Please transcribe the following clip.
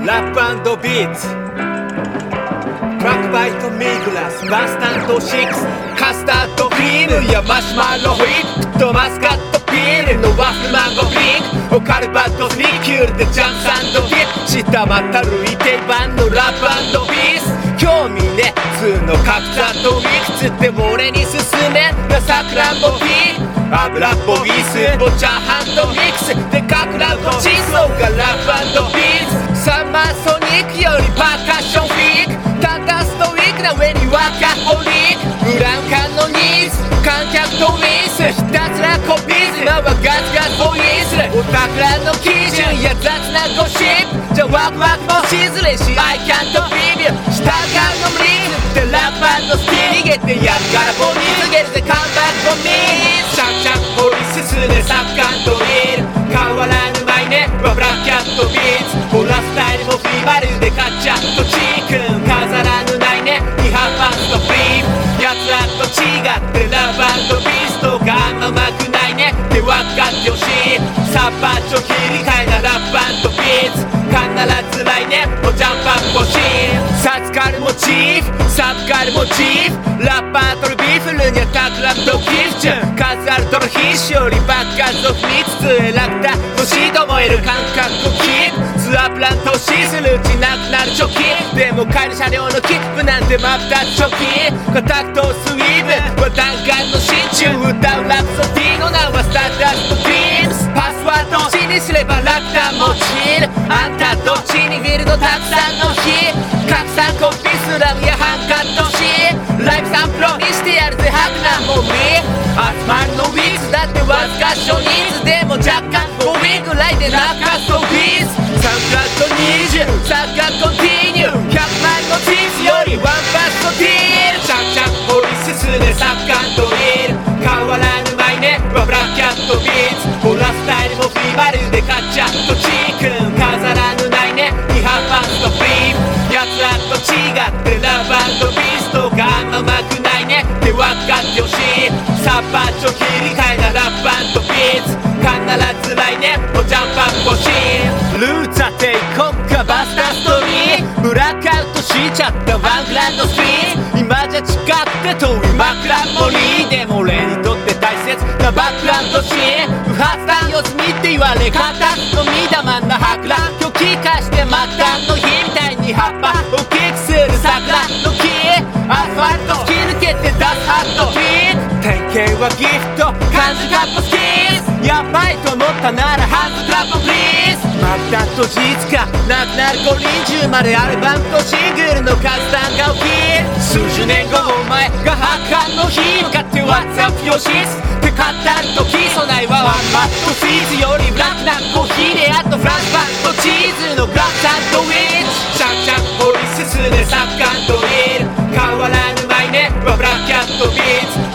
ラップ&ビーツトラックバイトミグラスバスタンド6カスタードクリームやマシュマロホイップとマスカットピールのワッフルマンゴーピンクオカルバットリキュールでジャンプサンドディップ下またるい定番のラップ&ビーツ興味ね普通の格差といくつでも俺に進めなさくらんぼピー油っぽいスープチャーハンドミックスでかくらうとチーズのがラップ&ビーツサマーソニックよりパーカッションフィークただストイックな上にワーカホリックブラウン管のニーズ観客とウィスひたすらコピーズ今はガツガツボイスお宝の基準や雑なゴシップじゃワクワクもしづれし I can't be you 従うの無理ってラップ&スキル逃げてやるからボに告げるぜカムバックフォーミーシャンシャン掘り進めサッカードリル変わらぬマイネはブラックキャットビーツホラスタイルもフィーバルでカッチャットチークン飾らぬないね違反ファンストフリームやつらと違ってラブ&ビーストがあんまうまくないねって分かってほしいサッパーチョ切り替えなラップ&ビーツ必ず来年もジャンプアップ欲しいサツカルモチーフサブカルモチーフラッパーとるビーフルにはタクラムとギフチュン数あるとの必死よりバックアズを踏みつつ選んだ年と燃える感覚をキープツアープラン投資するうちなくなる貯金でも帰る車両の切符なんて真っ二つ貯金コタクトスイーブは弾丸の心中歌うラプソディの名はスターダストドリームスパスワードを死にすれば楽だもちるあんたどっちにフィールドたくさんの日拡散コピースラムやハンカットしライブサンプロにしてやるぜハクなもみ集まるのウィーズだってわずか少人数でも若干5ウィンぐらいで落下ストフィーズサンクラット20サッカーコンティニュー100万のチーズよりワンパストディールシャンシャン掘り進めサッカードリル変わらぬマイネはブラックキャットビーツホラスタイルもフィーバルでカッチャットチークン飾らぬないね違反ファンストフリームやつらと違ってラブ&ビーストがあんまうまくないねって分かってほしいサッパーチョ切り替えなラップ&ビーツ必ず来年もジャンプアップ欲しいルーツは帝国かバスターストーリーブラックアウトしちゃったワングランドスピン今じゃ近くて遠い枕森でも俺にとって大切なバックグラウンドシーン不発弾四つ見って言われ方のみだまんな博覧今日気化して末端の日みたいに葉っぱをキックする桜の木アスファルト突き抜けて出すハットビート典型はギフト漢字カッコスキーズやばいと思ったならハンドクラッププリーズまたと事実かなくなる五輪中までアルバムとシングルの数単が起き数十年後お前が発刊の日向かって WhatsApp よしって語るとき備えはワンマットフィーズよりブラックなコーヒーであとフランスパンとチーズのグラフサンドウィッチシャンシャン掘り進めサッカードリル変わらぬマイネはブラックキャットビーツ